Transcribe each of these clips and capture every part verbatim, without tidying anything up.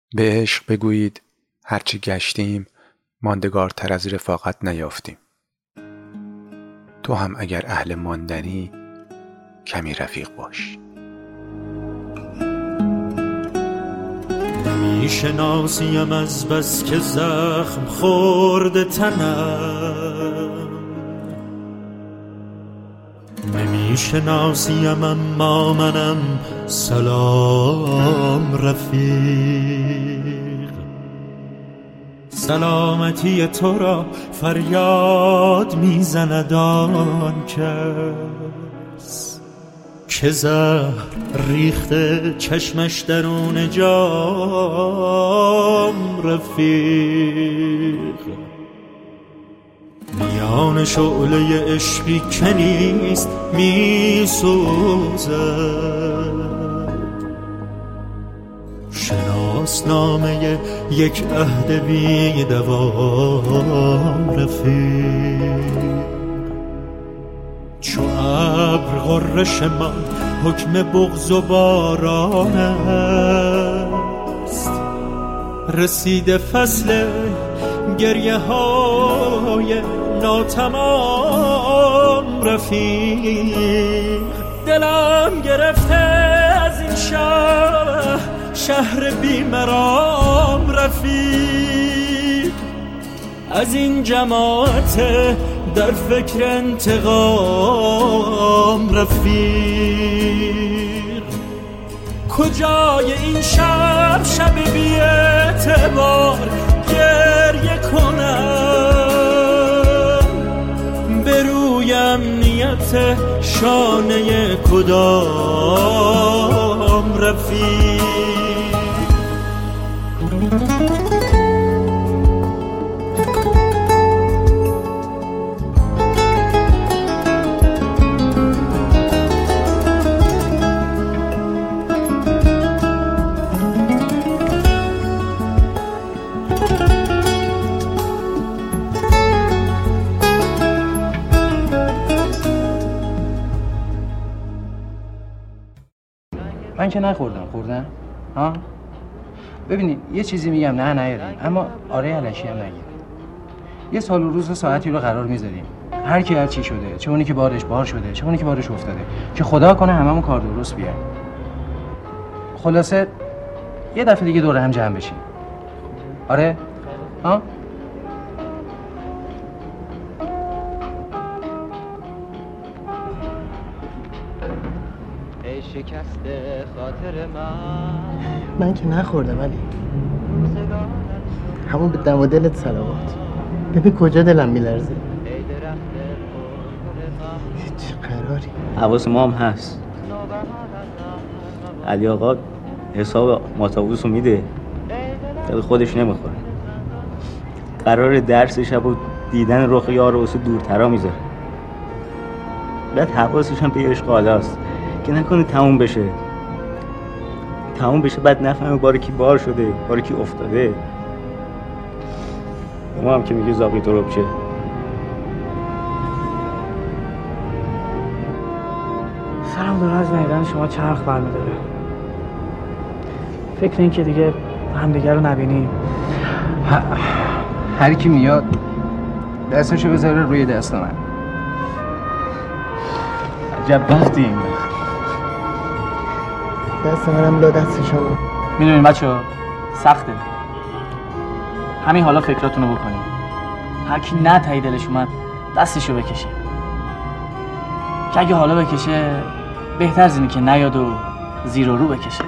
به عشق بگویید هرچی گشتیم ماندگارتر از رفاقت نیافتیم. تو هم اگر اهل ماندنی کمی رفیق باش. نمیشناسیم از بس که زخم خورده تنم، نمیشناسیم اما منم سلام رفیق. سلامتی تو را فریاد میزند آن کس که زهر ریخته چشمش درون جام رفیق. میان شعله عشقی که نیست میسوزد، شناسنامه یک عهد بی دوام رفیق. چو ابر غرش من حکم بغض و باران است، رسیده فصل گریه های ناتمام رفیق. دلم گرفته از این شهر شهر بیمرام رفیق، از این جماعت در فکر انتقام رفیق. کجای این شب شب بی اعتبار گریه کنم، به روی امنیت شانه کدام رفیق. من که نخوردم. خوردن؟ ها؟ ببینید یه چیزی میگم نه نیاریم، اما آره علشی هم نگیم. یه سال و روز و ساعتی رو قرار میذاریم، هر کی هر چی شده، چه اونی که بارش بار شده، چه اونی که بارش افتاده، که خدا کنه هممون کار درست بیایم. خلاصه یه دفعه دیگه دور هم جمع بشیم. آره؟ ها؟ شکست خاطر من من که نخوردم علی، همون به دم و دلت صلوات. ببین کجا دلم میلرزه. چه قراری؟ حواس ما هم هست. علی آقا حساب ماتابوس رو میده، دل خودش نمیخوره. قرار درس شب و دیدن رخ یار و واسه دورترا میذاره. بعد حواسش هم به عشق حالاست که نکنه تموم بشه تموم بشه بعد نفهمه باره کی بار شده، باره کی افتاده. ما هم که میگه زاقی تو رو بشه. سرم داره از نیدن شما چرخ برمیداره. فکر این که دیگه همدیگه رو نبینیم. هر کی میاد دستشو بذاره روی دست من. عجب وقتی این وقت دست منم لا دستشون. میدونین بچه‌ها سخته، همین حالا فکراتونو بکنین. هر کی نه تایی دلش اومد دستشو بکشه، که اگه حالا بکشه بهتر از اینه که نیاد و زیر و رو بکشه.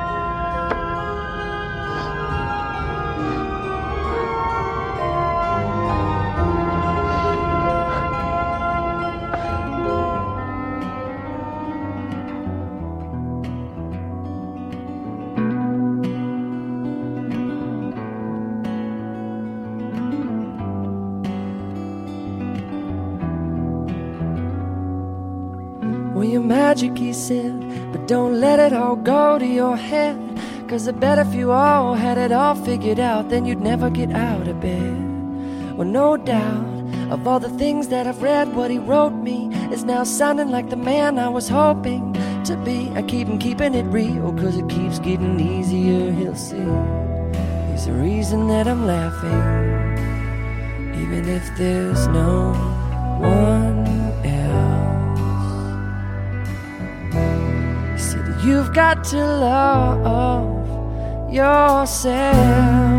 Well, you're magic, he said, but don't let it all go to your head. Cause I bet if you all had it all figured out, then you'd never get out of bed. Well, no doubt, of all the things that I've read, what he wrote me is now sounding like the man I was hoping to be. I keep him keeping it real, cause it keeps getting easier, he'll see. the reason that I'm laughing, even if there's no one else. You see that you've got to love yourself.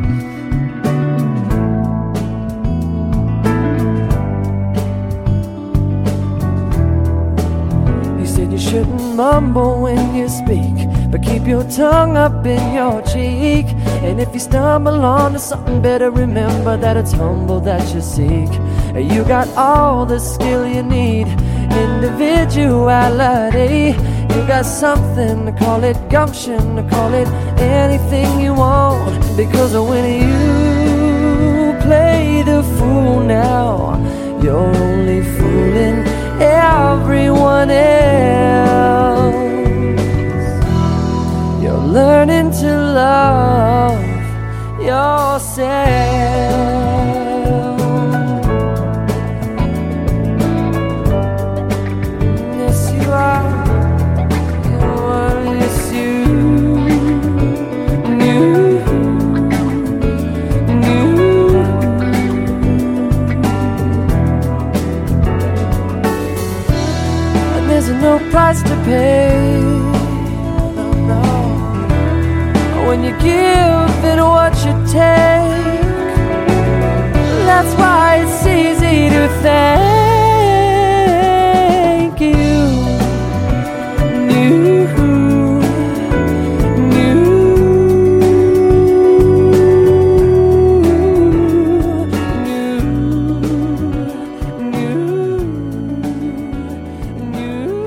You said you shouldn't mumble when you speak, but keep your tongue up in your cheek. And if you stumble onto something, better remember that it's humble that you seek. You got all the skill you need, individuality. You got something, to call it gumption, to call it anything you want. Because when you play the fool now, you're only fooling everyone else. You're learning to love yourself. Yes, you are. You are, yes, you knew, knew. And there's no price to pay. When you give it what you take, that's why it's easy to thank you. New, new, new, new, new.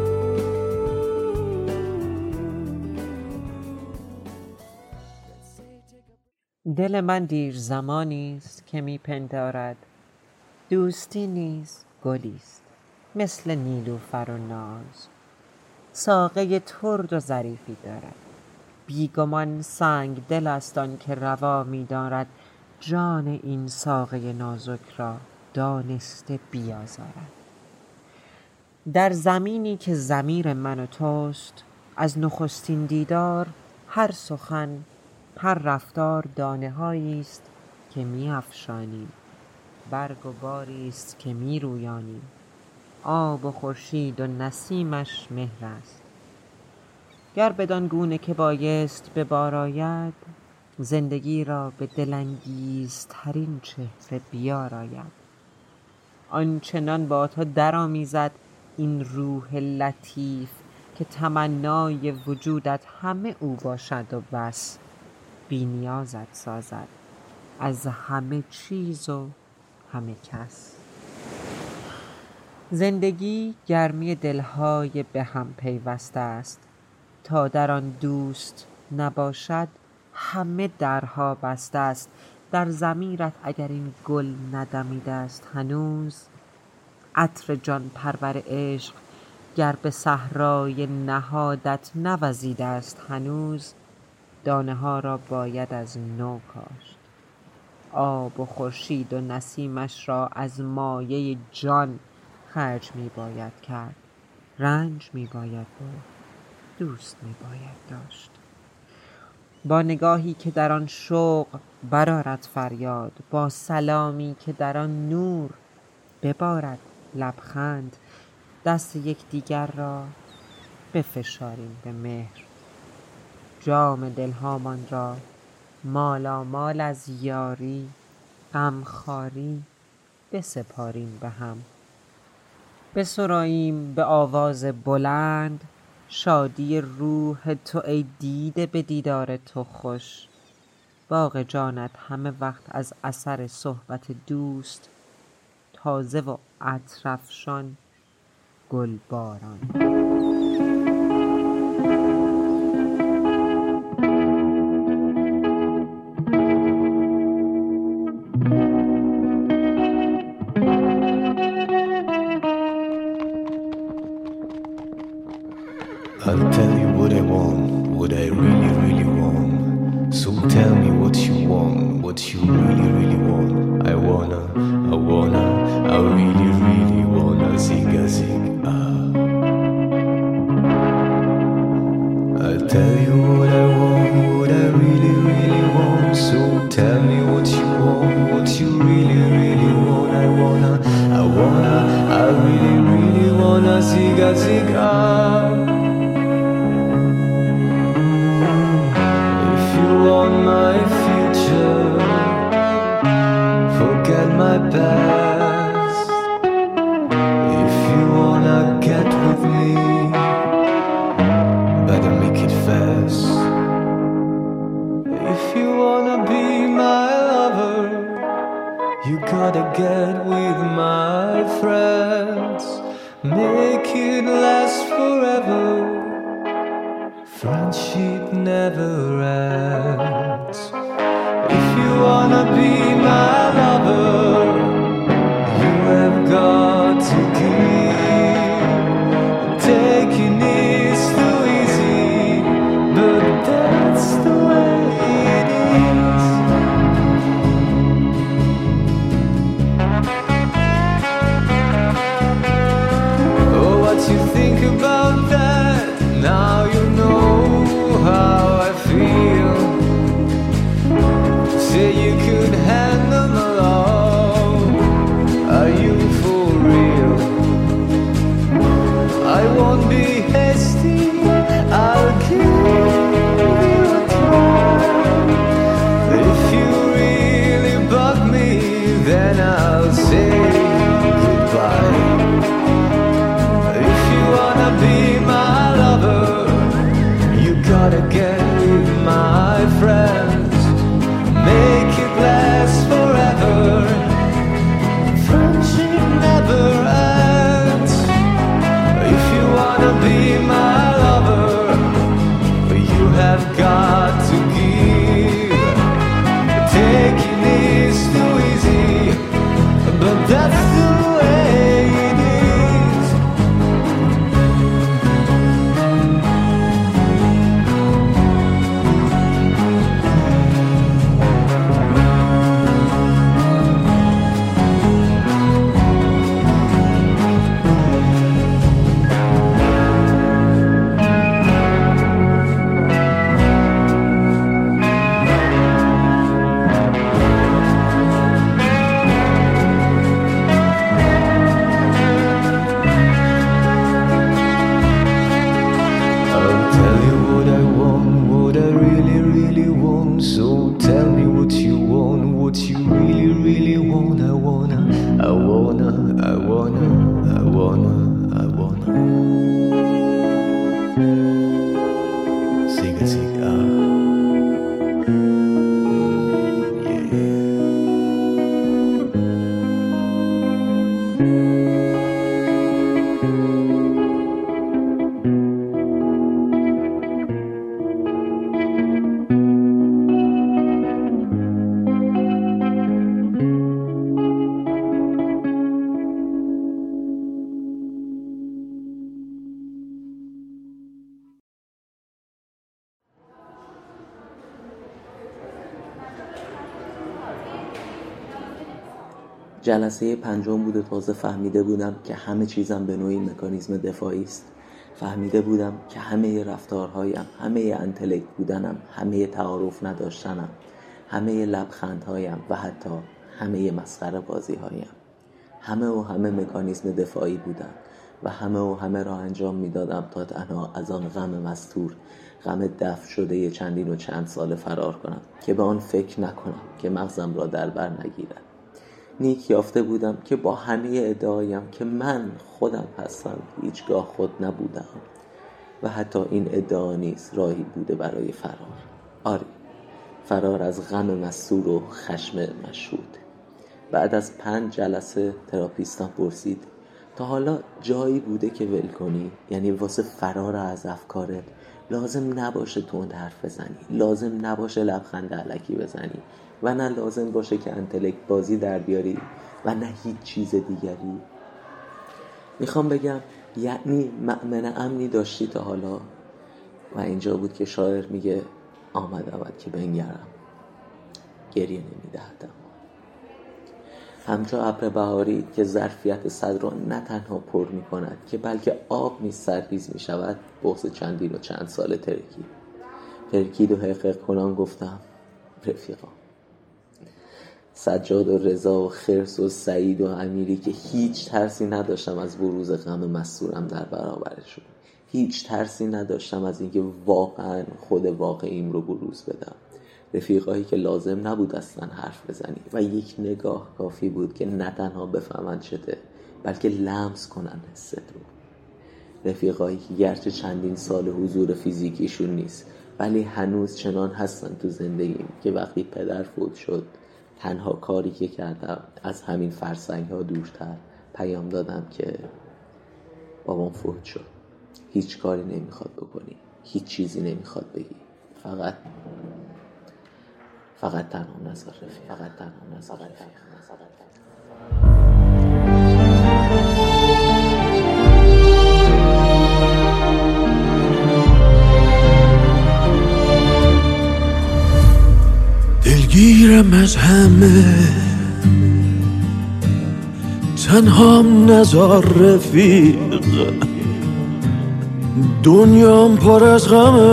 دل من دیر زمانی است که می پندارد دوستی نیز گلی است مثل نیلوفر و ناز. ساقه ترد و ظریفی دارد، بیگمان سنگ دل است آن که روا می دارد جان این ساقه نازک را دانسته بیازارد. در زمینی که ضمیر من و توست، از نخستین دیدار هر سخن، هر رفتار دانه هایی است که می افشانیم، برگ و باری است که می رویانیم. آب و خورشید و نسیمش مهر است. گر بدان گونه که بایست به بار آید، زندگی را به دلانگیزترین چهره بیاراید. آنچنان با تو درآمیزد این روح لطیف که تمنای وجودت همه او باشد و بس. بی نیازت سازد از همه چیز و همه کس. زندگی گرمی دلهای به هم پیوسته است، تا در آن دوست نباشد همه درها بسته است. در ضمیرت اگر این گل ندمیده است هنوز، عطر جان پرور عشق گر به صحرای نهادت نوزیده است هنوز، دانه ها را باید از نو کاشت. آب و خورشید و نسیمش را از مایه جان خرج می باید کرد. رنج می باید برد، دوست می باید داشت. با نگاهی که در آن شوق برآرد فریاد، با سلامی که در آن نور ببارد لبخند، دست یکدیگر را بفشاریم به مهر. جام دلهامان را مالامال از یاری، غمخواری بسپاریم به هم. بسراییم به آواز بلند شادی روح تو ای دیده به دیدار تو خوش. باغ جانت همه وقت از اثر صحبت دوست تازه و عطرافشان گلباران. I'll tell you what I want, what I really, really want. So tell me what you want, what you really, really want. I wanna, I wanna, I really, really wanna zigga zig ah. I'll tell you what I want, what I really, really want. get with my friends, make it last forever. Friendship never ends. If you wanna be my lover, you have got to give. Taking is too easy, but that's the way it is. Oh, what you think about that? Now you know how I feel. Say you could handle my love. Are you for real? I won't be hasty, I'll give you a try. If you really bug me, then I'll say goodbye. If you wanna be my lover, you gotta get with my friends, make it last forever. Friendship never ends. If you wanna be my lover, you have got to give. Taking is too easy, but that's the way it is. I'll tell you what I want, what I really, really want. So tell me what you want, what you really, really want. I wanna, I wanna, I wanna, I wanna, I wanna. Siga, siga. Mm, yeah. جلسه پنجم بود و تازه فهمیده بودم که همه چیزم به نوعی مکانیزم دفاعی است. فهمیده بودم که همه رفتارهایم، همه انتلکت بودنم، همه تعارف نداشتنم، همه لبخندهایم و حتی همه مسخره بازیهایم، همه و همه مکانیزم دفاعی بودن و همه و همه را انجام میدادم تا تنها از آن غم مستور، غم دفع شده چندین و چند سال فرار کنم که به آن فکر نکنم که مغزم را در بر نگیرد. نیک یافته بودم که با همه ادعایم که من خودم هستم هیچگاه خود نبودم و حتی این ادعا نیز راهی بوده برای فرار. آری، فرار از غم مستور و خشم مشهود. بعد از پنج جلسه تراپیستم پرسید تا حالا جایی بوده که ول کنی؟ یعنی واسه فرار از افکارت لازم نباشه تند حرف بزنی، لازم نباشه لبخند الکی بزنی و نه لازم باشه که انتلکت بازی در بیاری و نه هیچ چیز دیگری. میخوام بگم یعنی مأمن امنی داشتی تا حالا؟ و اینجا بود که شاعر میگه آمدم که بنگرم، گریه نمیدهدم. همچون ابر بهاری که ظرفیت صد را نه تنها پر می کند که بلکه آب نیز سرریز می شود، بغض چندین و چند سال ترکید ترکید و حقیق کنان گفتم رفیقا، سجاد و رضا و خرس و سعید و امیری که هیچ ترسی نداشتم از بروز غم مستورم در برابرشون، هیچ ترسی نداشتم از اینکه واقعا خود واقعیم رو بروز بدم. رفیقایی که لازم نبود اصلا حرف بزنی و یک نگاه کافی بود که نه تنها بفهمن چته بلکه لمس کنن حست رو. رفیقایی که گرچه چندین سال حضور فیزیکیشون نیست ولی هنوز چنان هستن تو زندگیم که وقتی پدر فوت شد تنها کاری که کردم از همین فرسنگ ها دورتر پیام دادم که بابام فوت شد، هیچ کاری نمیخواد بکنی، هیچ چیزی نمیخواد بگی، فقط فقط تنها نذار رفیق، فقط تنها نذار رفیق. دلگیرم از همه، تنهام نذار رفیق، دنیام پر از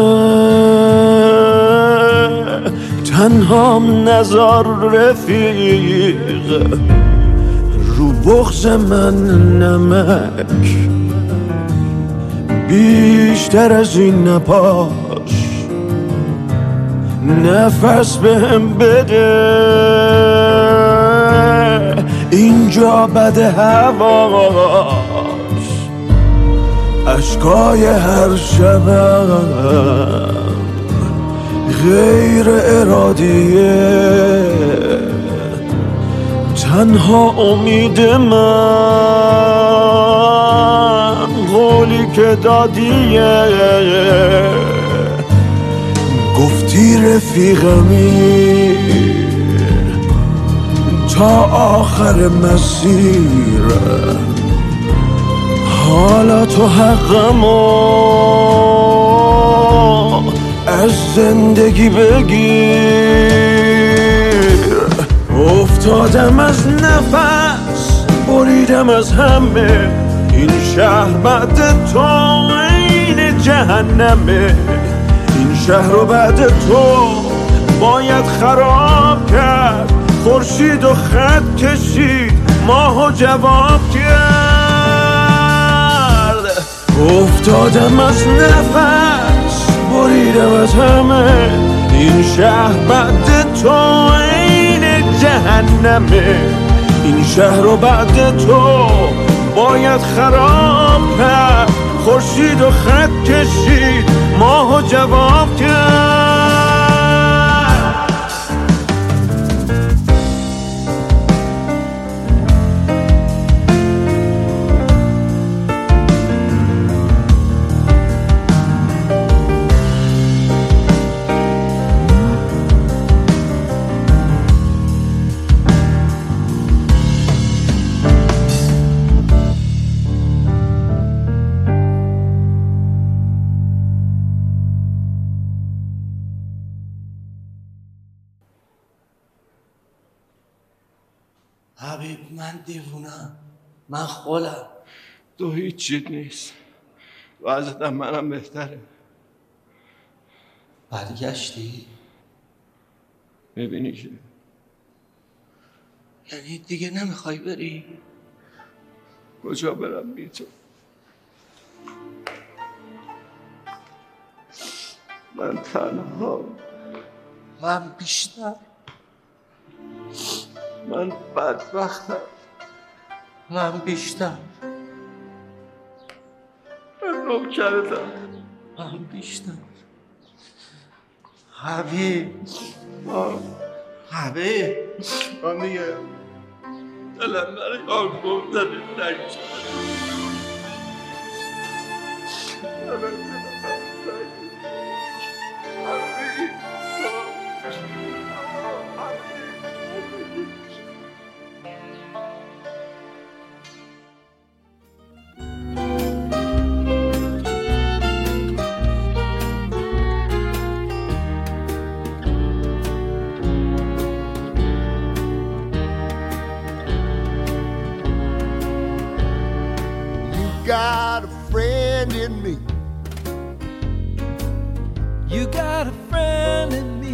غمه، تنهام نذار رفیق، رو بغض من نمک بیشتر از این نپاش، نفس بهم بده، اینجا بده هواش، اشکای هر شبم غیر ارادیه، تنها امید من قولی که دادیه، گفتی رفیقمی تا آخر مسیر، حالا تو حقمو از زندگی بگیر، افتادم از نفس، بریدم از همه، این شهر بعد تو این جهنمه، این شهر رو بعد تو باید خراب کرد، خورشید و خط کشید، ماهو جواب کرد، افتادم از نفس، بریدم از همه، این شهر بعد تو این جهنمه، این شهر رو بعد تو باید خراب کرد، خورشید و خط کشید، ماهو جواب کرد. حبیب من دیوونم، من خولم. تو هیچ چیز نیست، وضعیتم منم بهتره. برگشتی؟ میبینی که یعنی دیگه نمیخوای بری؟ کجا برم بی تو؟ من تنها، من بیشتر، من بدبختم، من بیشتر، من نوکرتم، من بیشتر. حبیب حبیب من دیگه دلم برای آن گفتن نگشت. Got a friend in me. You got a friend in me.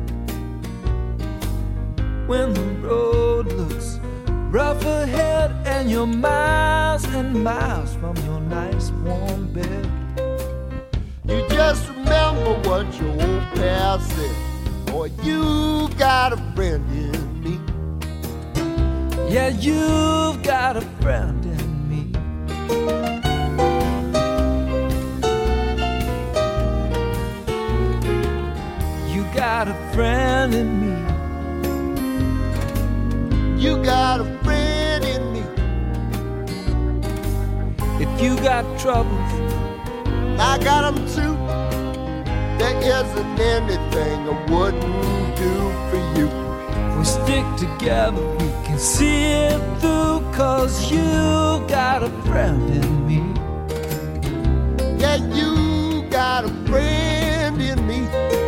When the road looks rough ahead and you're miles and miles from your nice warm bed, you just remember what your old pal said. Boy, you got a friend in me. Yeah, you've got a friend in me. You got a friend in me. You got a friend in me. If you got troubles, I got them too. There isn't anything I wouldn't do for you. If we stick together, we can see it through, 'cause you got a friend in me. Yeah, you got a friend in me.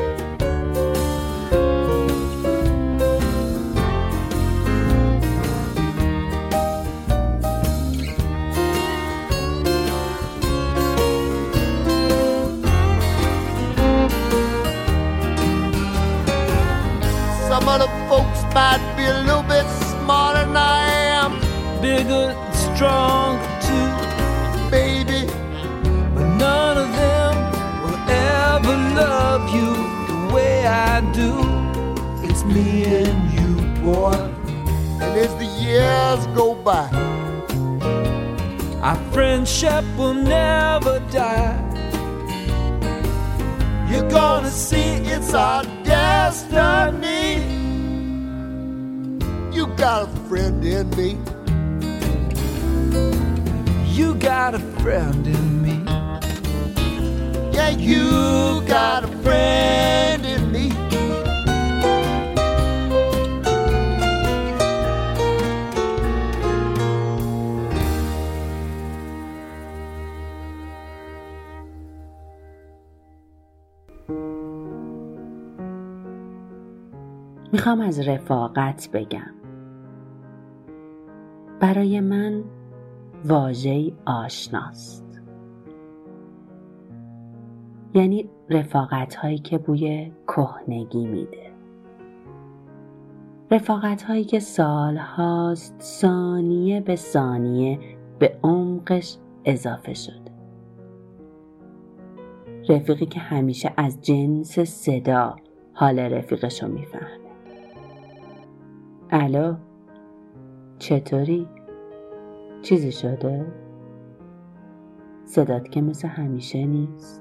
Some of the folks might be a little bit smarter than I am. Bigger and stronger too, baby. But none of them will ever love you the way I do. It's me and you, boy. And as the years go by, our friendship will never die. You're gonna see it's our destiny. You got a friend in me. You got a friend in me. Yeah, you got a friend in me. میخوام از رفاقت بگم. برای من واژه‌ای آشناست. یعنی رفاقت هایی که بوی کهنگی میده. رفاقت هایی که سال هاست ثانیه به ثانیه به عمقش اضافه شده. رفیقی که همیشه از جنس صدا حال رفیقشو میفهمه. الو، چطوری؟ چیزی شده؟ صدات که مثل همیشه نیست.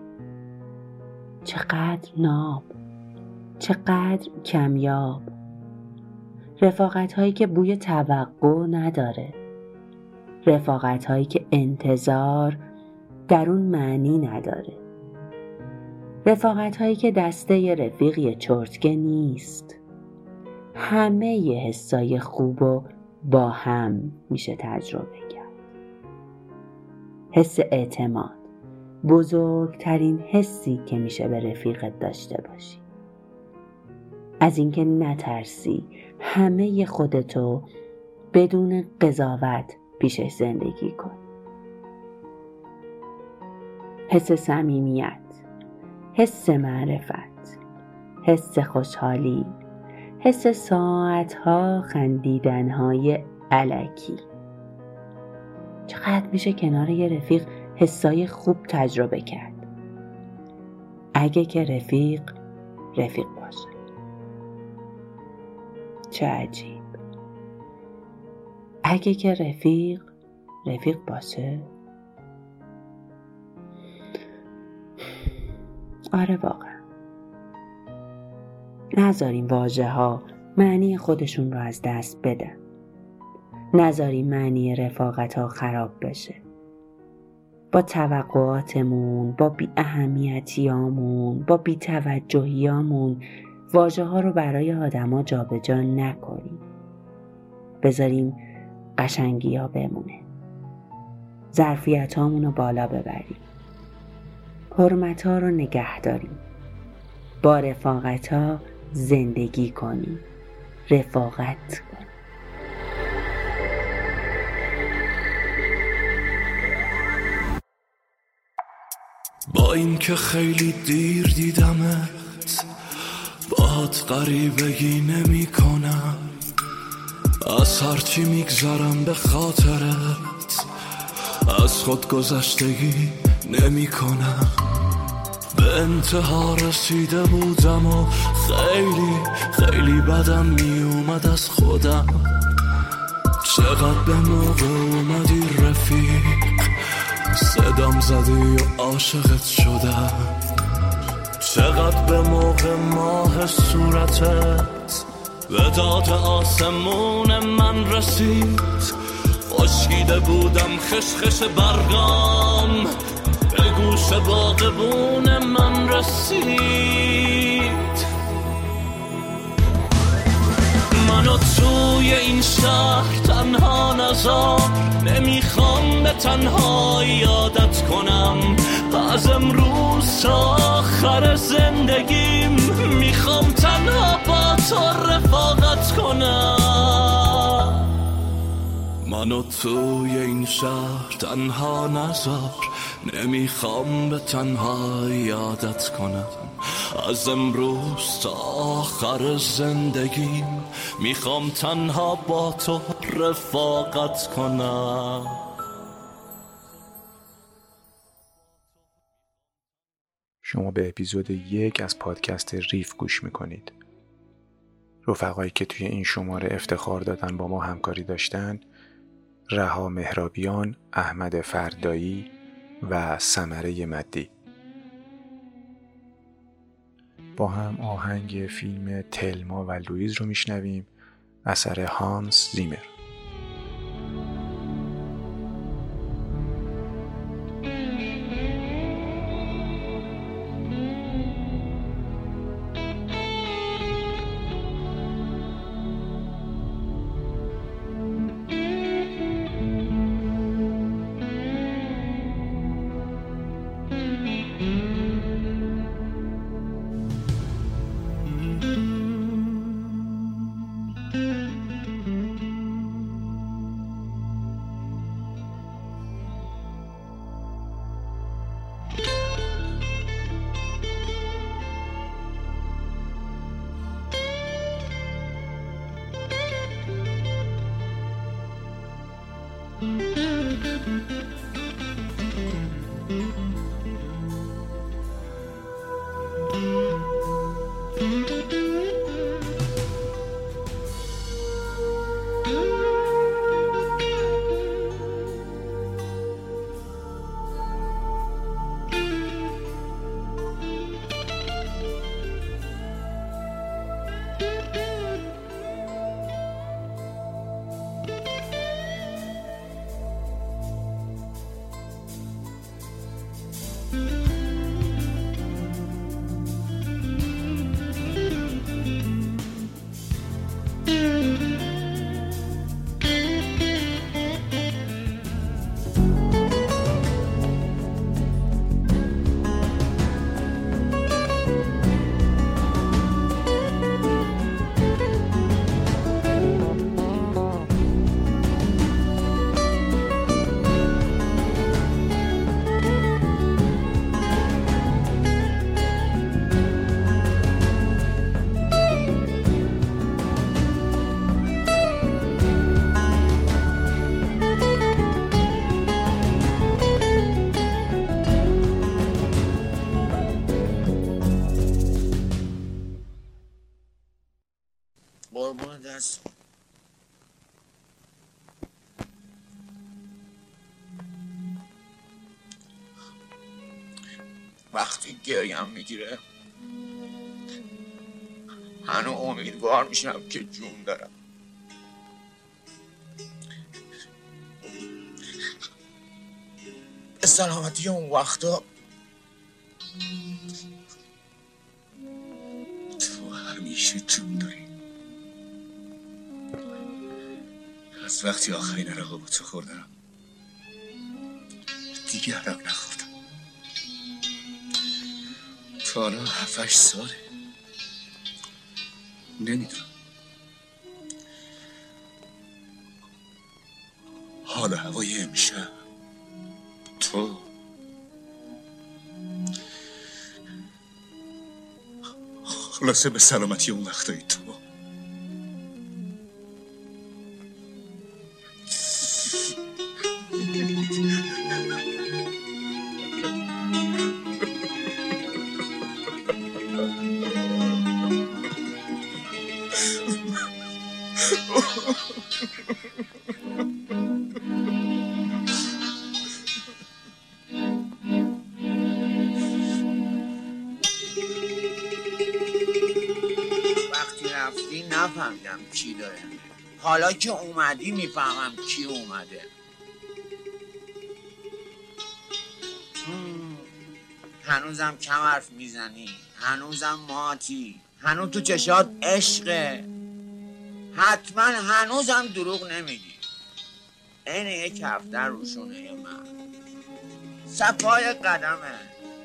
چقدر ناب، چقدر کمیاب. رفاقت هایی که بوی توقع نداره. رفاقت هایی که انتظار در اون معنی نداره. رفاقت هایی که دسته ی رفیق یه چرتکه نیست. همه ی حسای خوب و با هم میشه تجربه کرد. حس اعتماد، بزرگترین حسی که میشه به رفیقت داشته باشی. از اینکه نترسی همه ی خودتو بدون قضاوت پیشش زندگی کن. حس صمیمیت، حس معرفت، حس خوشحالی، حس ساعتها خندیدنهای الکی. چقدر میشه کنار یه رفیق حسای خوب تجربه کرد. اگه که رفیق رفیق باشه. چه عجیب. اگه که رفیق رفیق باشه. آره واقعا. نذاریم واژه ها معنی خودشون رو از دست بدن. نذاریم معنی رفاقت ها خراب بشه. با توقعاتمون، با بی اهمیتیامون، با بی توجهیامون واژه ها رو برای آدم ها جا به جا نکنیم. بذاریم قشنگی ها بمونه. ظرفیت هامون رو بالا ببریم. حرمت ها رو نگه داریم. با رفاقت ها زندگی کنیم. رفاقت کنیم. با این که خیلی دیر دیدمت، باهات غریبگی نمی کنم. از هرچی میگذرم به خاطرت، از خود گذشتگی نمی کنم. به انتها رسیده بودم و خیلی خیلی بدم می اومد از خودم. چقدر به موقع اومدی رفیق، صدام زدی و عاشقت شدم. چقدر به موقع ماه صورتت به داد آسمون من رسید، خشکیده بودم خشخش برگام، به گوش باغبون من رسید. منو توی این شهر تنها نذار، نمیخوام به تنهایی عادت کنم، از امروز تا آخر زندگیم میخوام تنها با تو رفاقت کنم. منو توی این شهر تنها نذار، نمیخوام به تنهایی عادت کنم، از امروز تا آخر زندگیم میخوام تنها با تو رفاقت کنم. شما به اپیزود یک از پادکست ریف گوش میکنید. رفقایی که توی این شماره افتخار دادن با ما همکاری داشتن رها مهرابیان، احمد فردایی و ثمره مدی. با هم آهنگ فیلم تلما و لویز رو میشنویم، اثر هانس زیمر. وقتی گریم میگیره هنو امیدوار میشم که جون دارم. به سلامتی اون وقتا تو همیشه جون داری. از وقتی آخرین عرقا با تو خوردم دیگه عرق نخوردم. تا حالا هفتش ساله نمیدونم. حالا هوای امشب تو خلاصه به سلامتی اون وقتایی تو نفهمیدم کی داره. حالا که اومدی میفهمم کی اومده. هنوزم کم حرف میزنی، هنوزم ماتی، هنوز تو چشات عشقه، حتما هنوزم دروغ نمیگی. این یک هفته روشونه من صفای قدمه.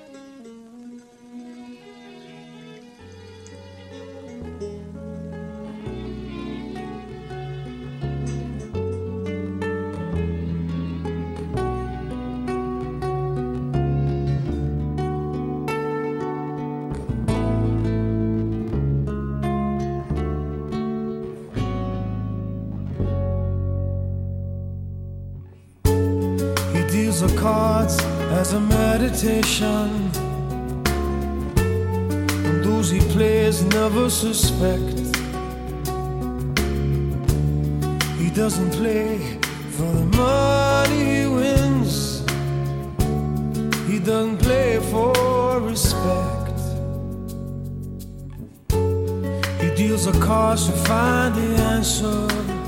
The cards as a meditation, and those he plays never suspect. He doesn't play for the money he wins, he doesn't play for respect. He deals the cards to find the answer,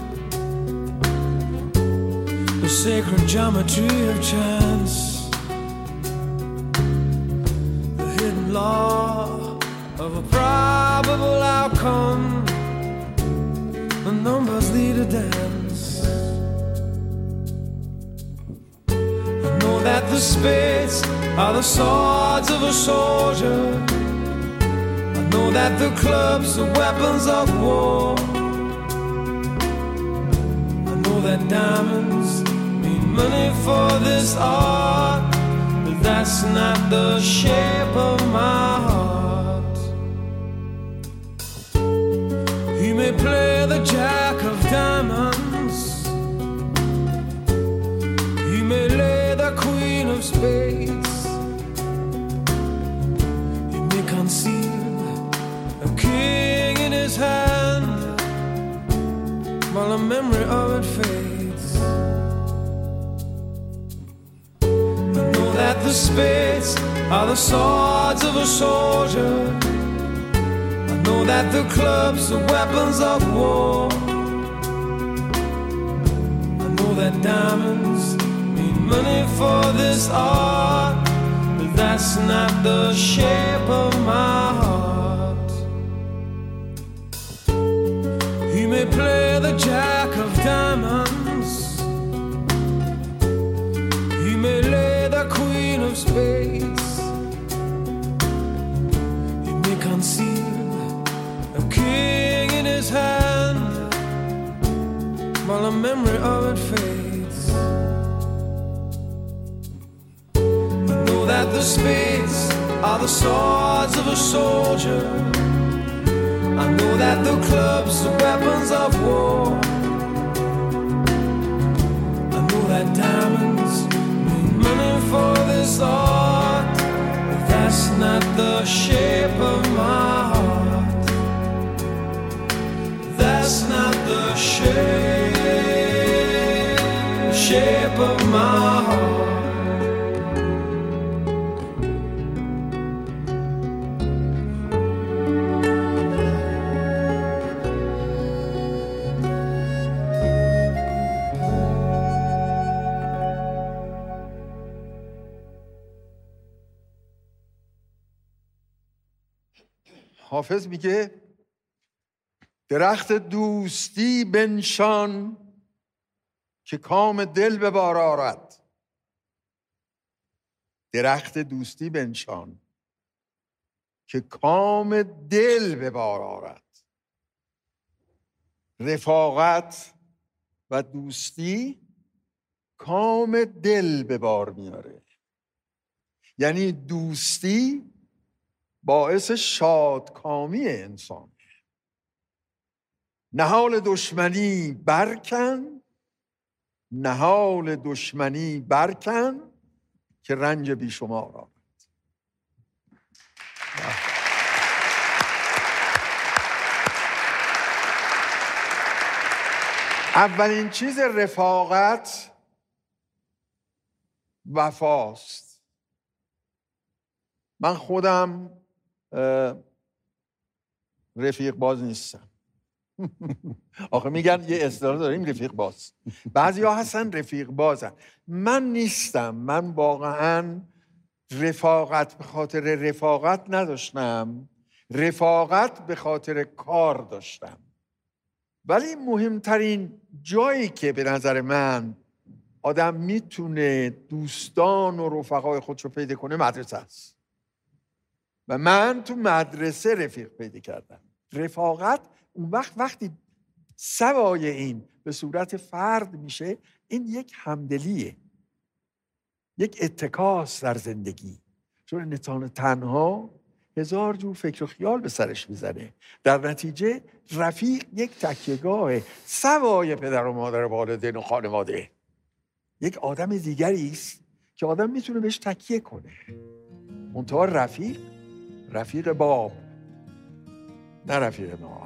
the sacred geometry of chance, the hidden law of a probable outcome. The numbers lead a dance. I know that the spades are the swords of a soldier. I know that the clubs are weapons of war. I know that diamonds money for this art, but that's not the shape of my heart. He may play the jack of diamonds, he may lay the queen of spades, he may conceal a king in his hand while the memory of it fades. That the spades are the swords of a soldier. I know that the clubs are weapons of war. I know that diamonds mean money for this art, but that's not the shape of my heart. He may play the jack of diamonds, he may lay the queen of spades, he may conceal a king in his hand while the memory of it fades. I know that the spades are the swords of a soldier. I know that the clubs are weapons of war. I know that diamonds money for this art, but that's not the shape of my heart. That's not the shape, shape of my heart. حافظ میگه درخت دوستی بنشان که کام دل به بار آرد. درخت دوستی بنشان که کام دل به بار آرد. رفاقت و دوستی کام دل به بار میاره. یعنی دوستی باعث شادکامی انسان. نهال دشمنی برکن، نهال دشمنی برکن که رنج بیشمار آورد. اولین چیز رفاقت وفاست. من خودم رفیق باز نیستم، آخه میگن یه اصطلاح داریم رفیق باز. بعضی ها هستن رفیق بازن. من نیستم. من واقعا رفاقت به خاطر رفاقت نداشتم، رفاقت به خاطر کار داشتم. ولی مهمترین جایی که به نظر من آدم میتونه دوستان و رفقای خودش رو پیدا کنه مدرسه است. و من تو مدرسه رفیق پیدا کردم. رفاقت اون وقت وقتی سوای این به صورت فرد میشه، این یک همدلیه، یک اتکاس در زندگی. چون انسان تنها هزار جور فکر و خیال به سرش میزنه. در نتیجه رفیق یک تکیهگاه سوای پدر و مادر و والدین و خانواده. یک آدم دیگری است که آدم میتونه بهش تکیه کنه. منتها رفیق رفیق باب، نه رفیق ما.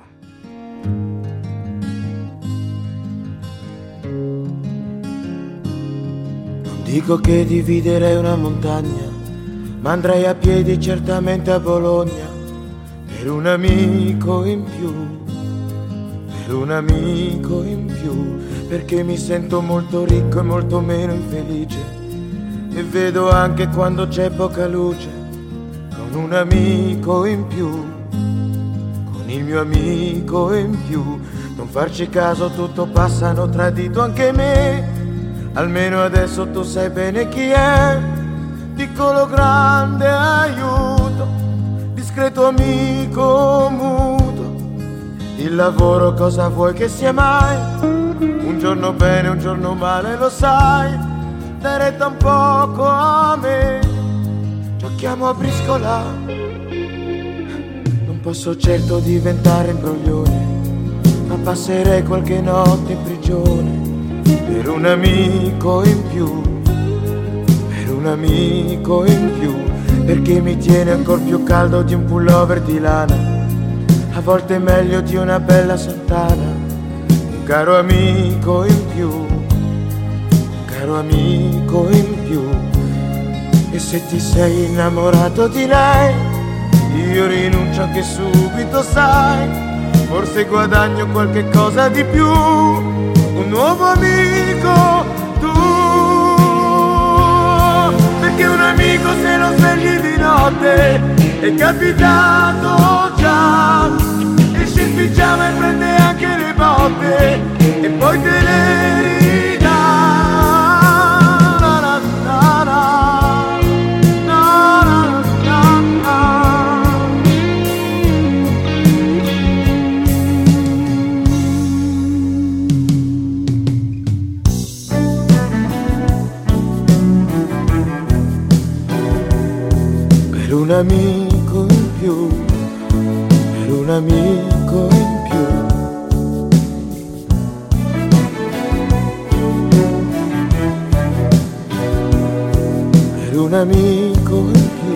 Dico che dividerei una montagna, ma andrei a piedi certamente a Bologna, per un amico in più, per un amico in più, perché mi sento molto ricco e molto meno infelice, e vedo anche quando c'è poca luce, con un amico in più, con il mio amico in più. Non farci caso, tutto passa, hanno tradito anche me, almeno adesso tu sai bene chi è, piccolo grande aiuto, discreto amico muto, il lavoro cosa vuoi che sia mai, un giorno bene, un giorno male, lo sai, dai retta un poco a me, giochiamo a briscola, non posso certo diventare imbroglione, ma passerei qualche notte in prigione, per un amico in più, per un amico in più, perché mi tiene ancora più caldo di un pullover di lana, a volte meglio di una bella sottana, un caro amico in più, un caro amico in più. E se ti sei innamorato di lei, io rinuncio anche subito, sai, forse guadagno qualche cosa di più, un nuovo amico tu, perché un amico se lo svegli di notte è capitato già, esce in pigiama e prende anche le botte e poi te le ridà. Na, na, na, na. Per un amico in più, per un amico in più. Per un amico in più.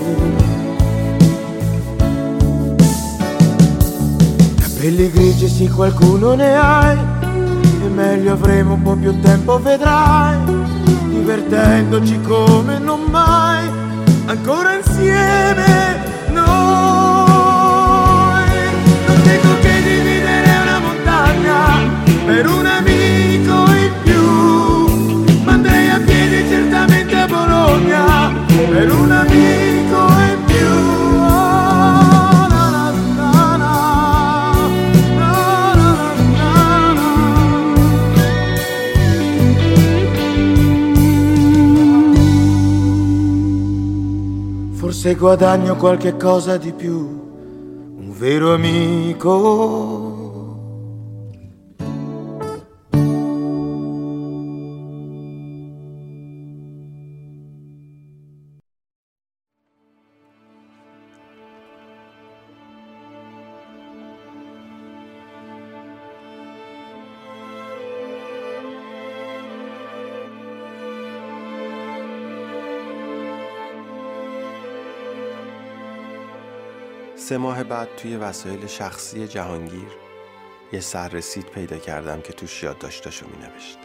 Capelli grigi sì qualcuno ne hai, e meglio avremo un po' più tempo vedrai, divertendoci come non mai, ancora insieme noi. Non dico che dividere una montagna per un amico in più, ma andrei a piedi certamente a Bologna per un amico in più. Oh, na, na, na, na, na, na, na, na. Forse guadagno qualche cosa di più, un vero amico. سه ماه بعد توی وسایل شخصی جهانگیر یه سررسید پیدا کردم که توش یادداشتاشو می نوشت.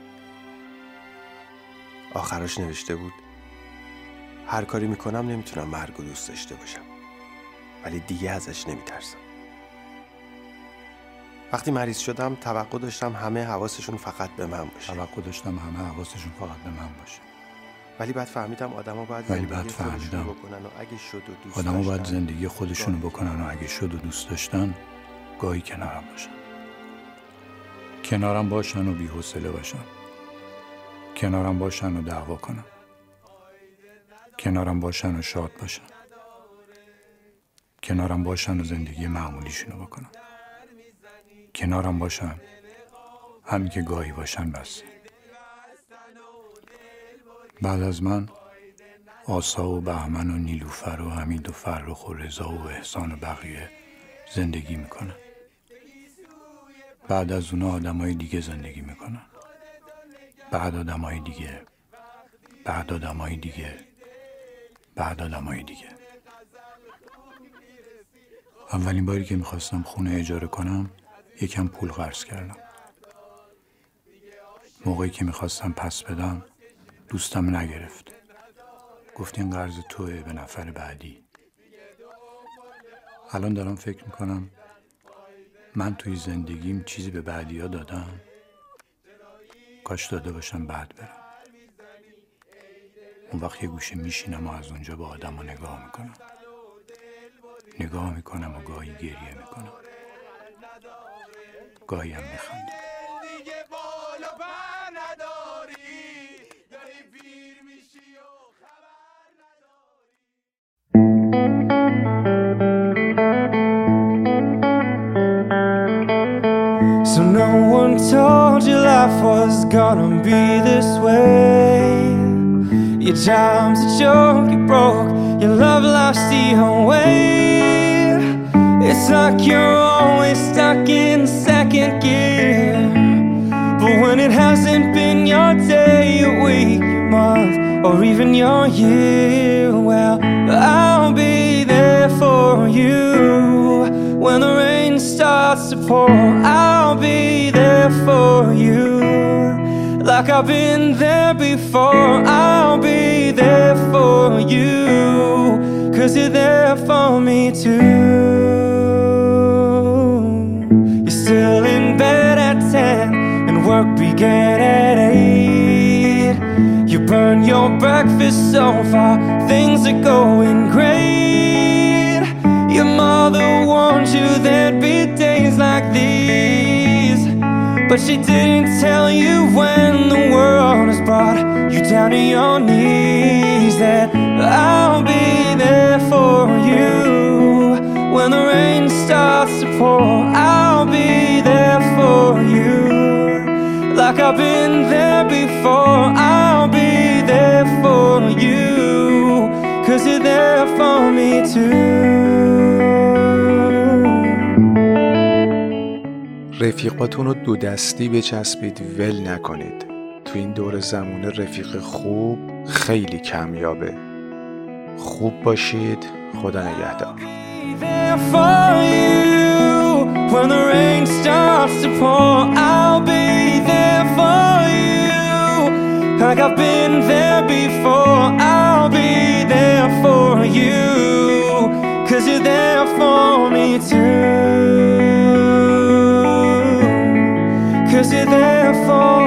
آخرش نوشته بود: هر کاری میکنم نمیتونم مرگ و دوست داشته باشم، ولی دیگه ازش نمیترسم. وقتی مریض شدم توقع داشتم همه حواسشون فقط به من باشه. توقع داشتم همه حواسشون فقط به من باشه. ولی بعد فهمیدم آدما باید ولی زندگی بعد فهمیدم بکنن و اگه شد و دوست آدما داشتن باید زندگی خودشونو بکنن و اگه شد و دوست داشتن گاهی کنارم باشن. کنارم باشن و بی‌حوصله باشن. کنارم باشن و دعوا کنن. کنارم باشن و شاد باشن. کنارم باشن و زندگی معمولیشونو بکنن. کنارم باشن همین که گاهی باشن بس. بعد از من آسا و بهمن و نیلوفر و حمید و فرخ و رضا و احسان و بقیه زندگی میکنن. بعد از اونا آدمای دیگه زندگی میکنن. بعد آدمای دیگه. بعد آدمای دیگه. بعد آدمای دیگه. اولین باری که میخواستم خونه اجاره کنم یکم پول قرض کردم. موقعی که میخواستم پس بدم دوستم نگرفت. گفت این قرض توئه به نفر بعدی. الان دارم فکر میکنم من توی زندگیم چیزی به بعدی ها دادم. کاش داده باشم بعد برم. اون وقت یه گوشه میشینم و از اونجا به آدم ها نگاه میکنم. نگاه میکنم و گاهی گریه میکنم. گاهی هم میخندم. So no one told you life was gonna be this way. Your job's a joke, you broke, your love life's the whole way. It's like you're always stuck in second gear. But when it hasn't been your day, your week, your month, or even your year, well, I'll be there for you. When the rain starts to pour, I'll be there for you. Like I've been there before, I'll be there for you. Cause you're there for me too. You're still in bed at ten and work began at eight. You burn your breakfast so far, things are going great. Your mother warned you there'd be days like these, but she didn't tell you when the world has brought you down to your knees that I'll be there for you. When the rain starts to pour, I'll be there for you. Like I've been there before, I'll be there for you. Cause you're there for me too. رفیقاتون رو دو دستی بچسبید، ول نکنید. تو این دور زمونه رفیق خوب خیلی کمیابه. خوب باشید. خدا نگهدار. When the rain starts to pour, I'll be there for you. Like I've been there before, I'll be there for you. Cause you're there for me too. Cause you're there for